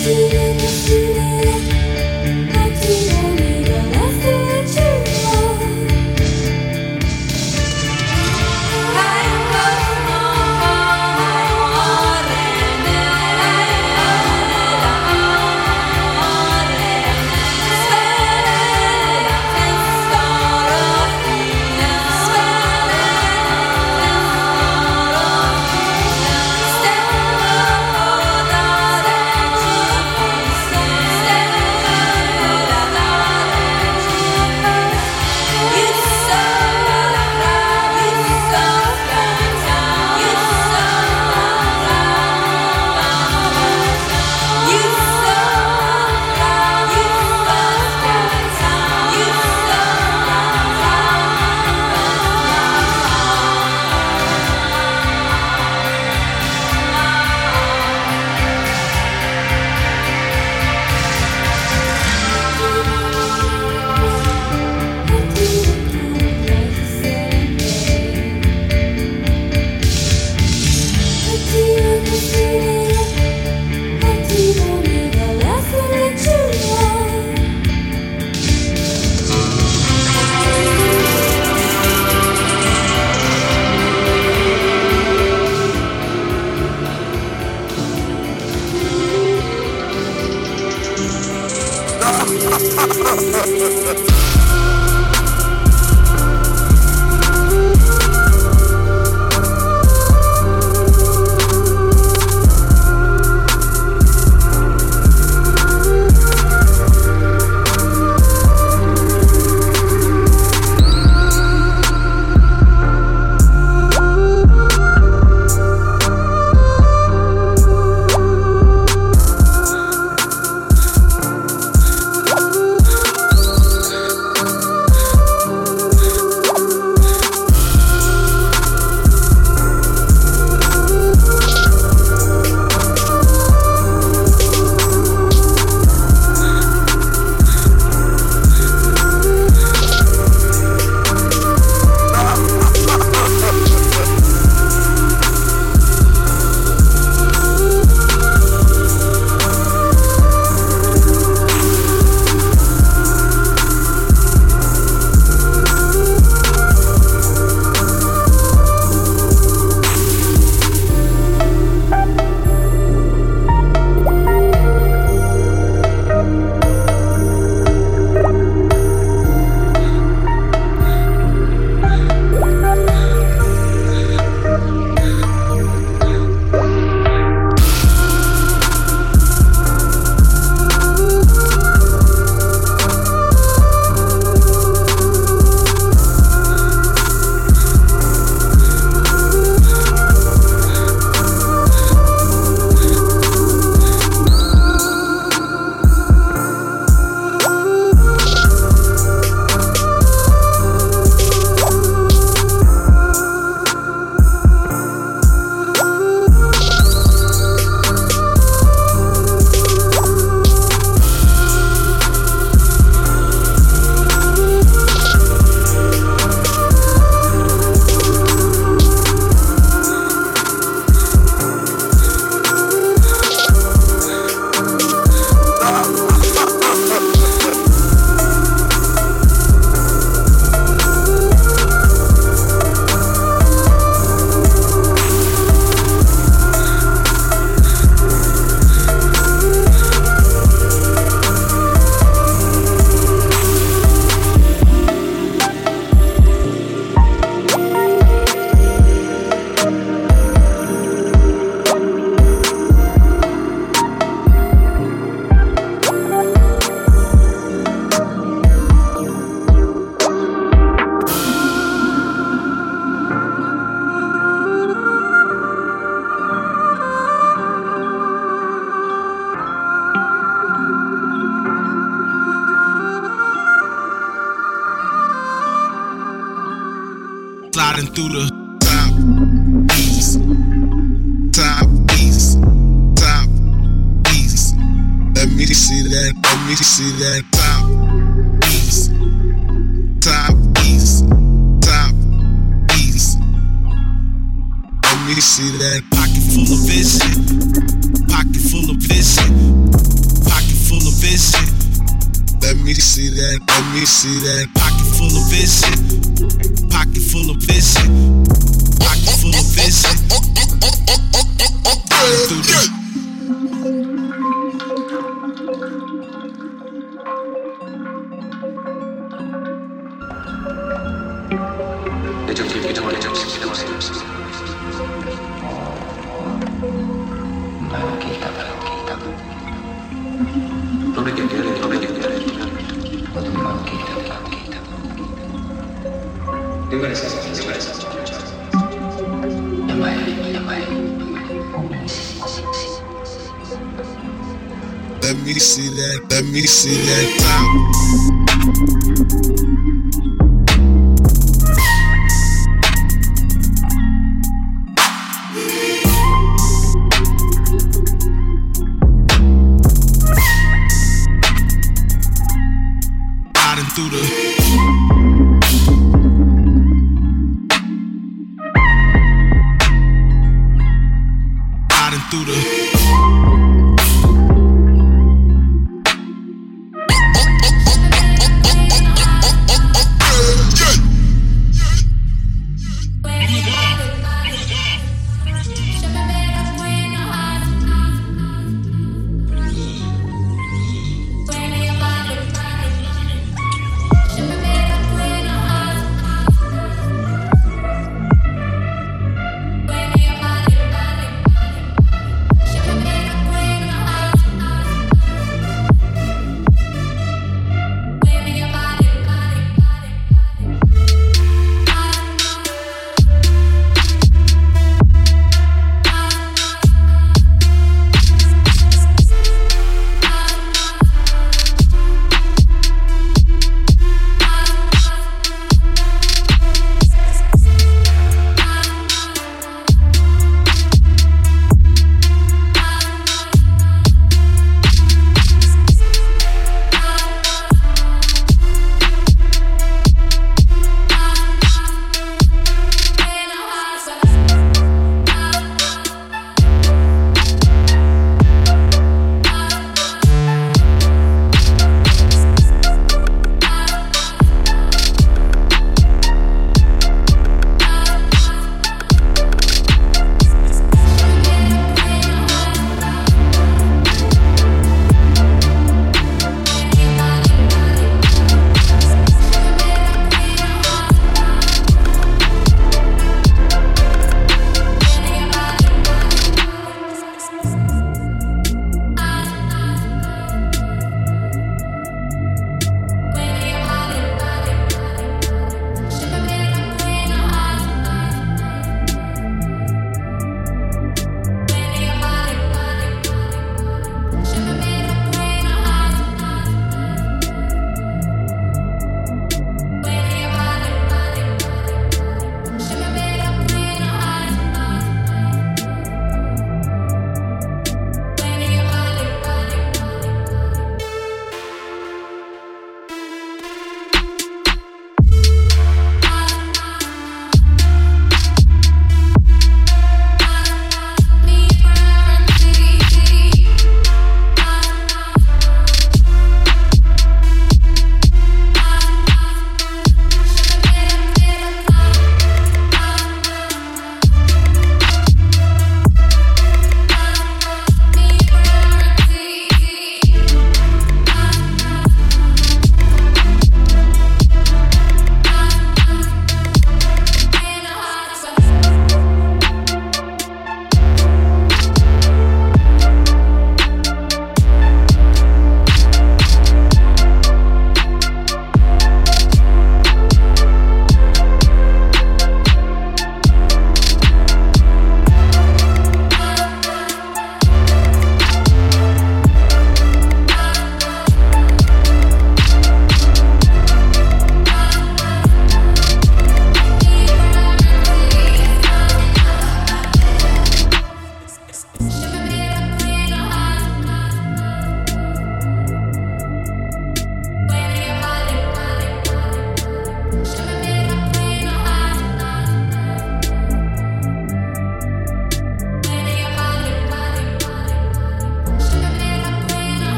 S10: Sliding through the top east, top east, top east. Let me see that, let me see that top east, top east, top east. Let me see that pocket full of vision, pocket full of vision. vision. Let me see that, let me see that. Pocket full of vision. Pocket full of vision. Pocket full of vision. Riding through the Let me see that, let me see that top. Through the riding through the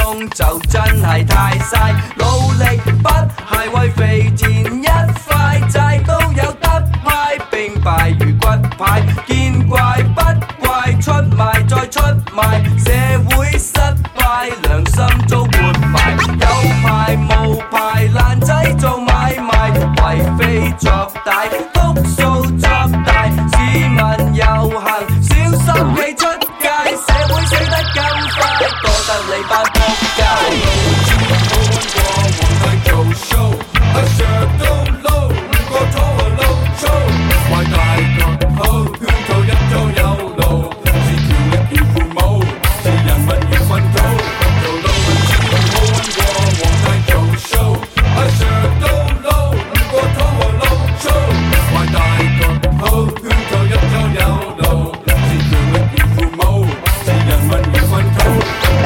S7: 鐘就真係太嘥，努力不係為肥田一塊債，都有得派，並敗如骨牌，見怪不怪，出賣再出賣，社會失敗，良心遭活埋，有牌無牌爛仔做買賣，為非作歹，篤數作大，市民遊行小心企出街，社會死得咁快，多得你班仆街。做 show， I sure don't know， 個肚啊撈粗，壞大腳好，圈套一早有路，是權力要父母，是人民要奮鬥，做老闆始終好穩過皇帝做 show，I sure don't know， 個肚啊撈粗，壞大腳好，圈套一早有路，是權力要父母，是人民要奮鬥。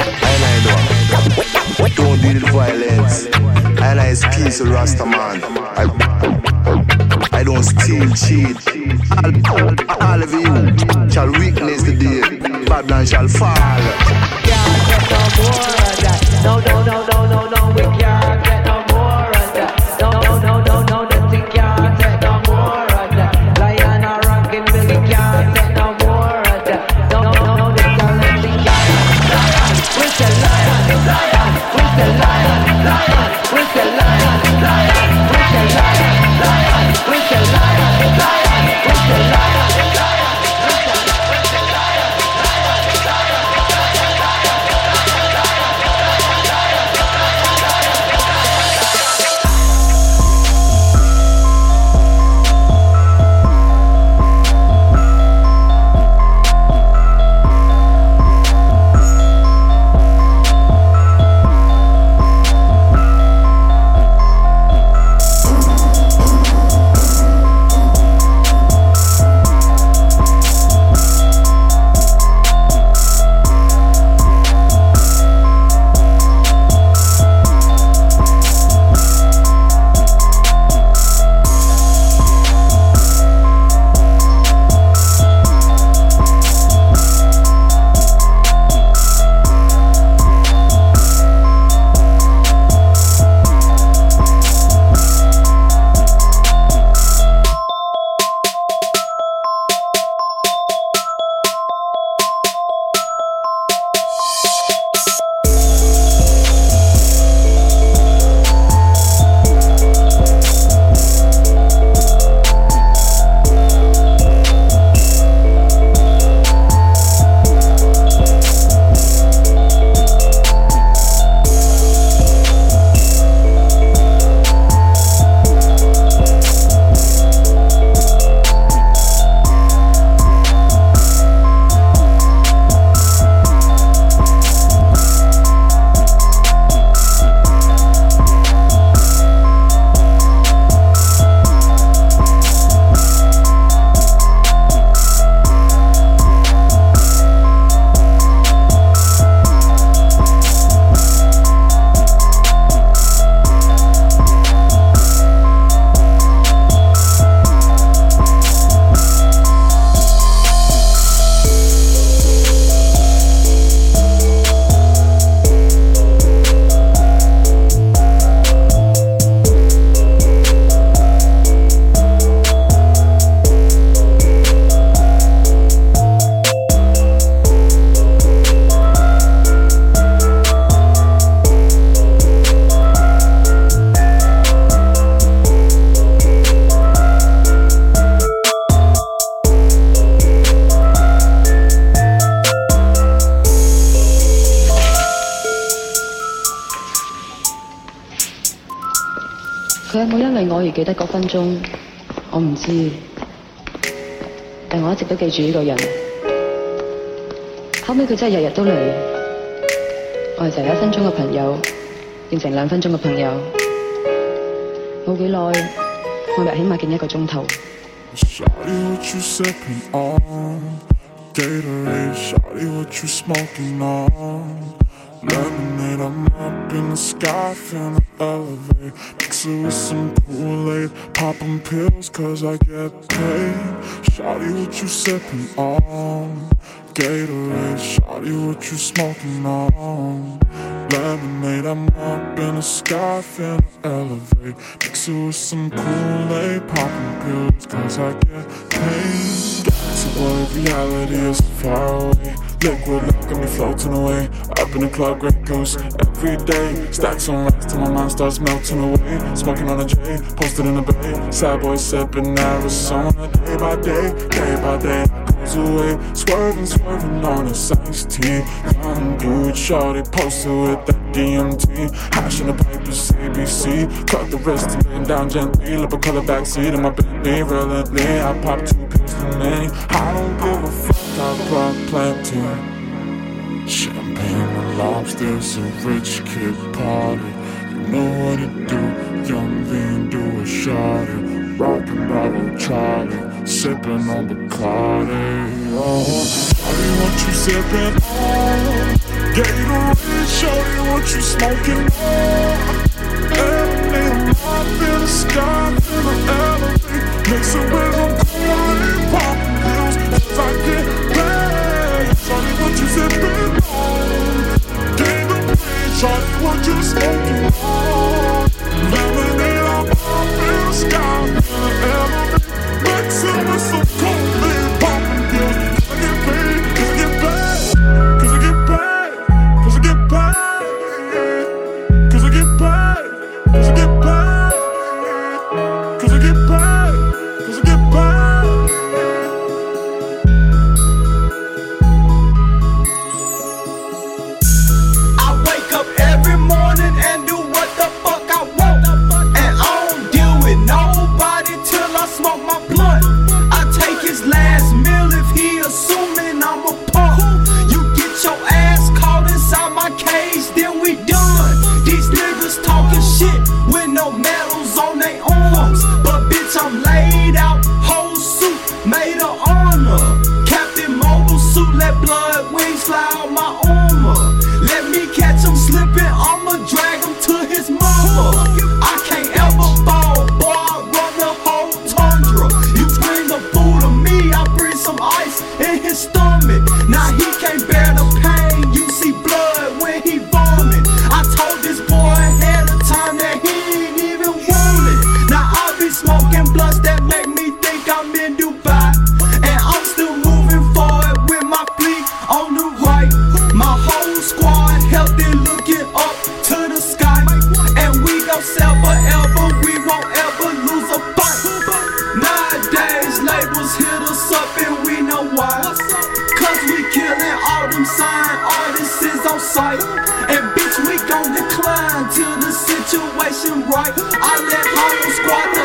S11: Don't do the violence. And I is peace Rasta man. I, I don't steal, cheat. All, all of you shall witness the day. Babylon shall fall.
S12: Can't get no more of that. No, no, no, no, no, no. We can't get no more of that. No, no, no, no, no. That we can't get no more of that. Lion or rockin' Billy can't get no more of that. No, no, no, no. They can't let me lion, lion. We're the lion, lion. We're the lion, lion. We're the lion, lion. We're the lion, lion. We're the lion, lion. We're the lion, lion.
S13: 佢有冇因為我而記得嗰分鐘，我唔知，但我一直都記住呢個人。後尾佢真係日日都嚟，我哋就由一分鐘嘅朋友變成兩分鐘嘅朋友。冇幾耐，我日起碼見一個鐘頭。
S14: Shawty, what you sipping on? Gatorade, shawty, what you smoking on? Lemonade, I'm up in the sky, finna elevate. Mix it with some Kool-Aid, poppin' pills cause I get paid. Shawty, what you sipping on? Gatorade, shawty, what you smoking on? Lemonade, I'm up in the sky, finna elevate. Mix it with some Kool-Aid, popping pills, cause I get paid. Galaxy boy, reality is far away. Liquid love got me floating away. Up in the club, great goose every day. Stacks on racks till my mind starts melting away. Smoking on a J, posted in the bay. Sad boy sipping Arizona day by day, day by day. Goes away, swerving, swerving on this iced tea. Young dude, shorty posted with that D M T. Hash in the papers, A B C. Cut the wrist and lay him down gently. Lip a color backseat in my Bentley. Relently, I pop two pills too many. I don't give a fuck, I brought plenty. Champagne and lobsters, a rich kid party. You know what it do, young lean do a shawty. Rockin' Bravo Charlie, sippin' on Bacardi. Oh, shawty, what you sippin' on? Gatorade, shawty, what you smoking on? Lemonade, I'm up in the sky, finna elevate. Mix it with some Kool-Aid, poppin' pills, cause I get paid. Shawty, what you sippin' on? Gatorade, shawty, what you smoking on? Lemonade, I'm up in the sky, finna elevate. Mix it with some Kool-Aid, poppin' pills, cause I get paid, cause I get paid, cause I get paid, cause I get paid, cause I get paid, cause I get paid, cause I get paid, cause I get paid.
S7: I wake up every morning and do what the fuck I want. And I don't deal with nobody till I smoke my blunt. I take his last meal if he assuming I'm a punk. You get your ass caught inside my cage, then we done. These niggas talking shit with no medals on their arms. But bitch, I'm laid out, whole suit made of honor. Captain Mobile suit, let blood wings fly out my armor. Let me catch him slipping, I'ma drag him to his mama. I can't ever fall, boy, I run the whole tundra. You bring the food to me, I bring some ice in his stomach. Now he can't bear the pain, you see blood when he vomit. I told this boy ahead of time that he ain't even want it. Now I be smoking blunts that make me think I'm in Dubai. And I'm still moving forward with my fleet on the right. My whole squad healthy, looking up to the sky. And we gon' sell forever, we won't ever lose a fight. Nowadays labels hit us up and we know why. Cause we killing all them sign artists is on sight. And bitch, we gon' decline till the situation right. I let Hollow Squad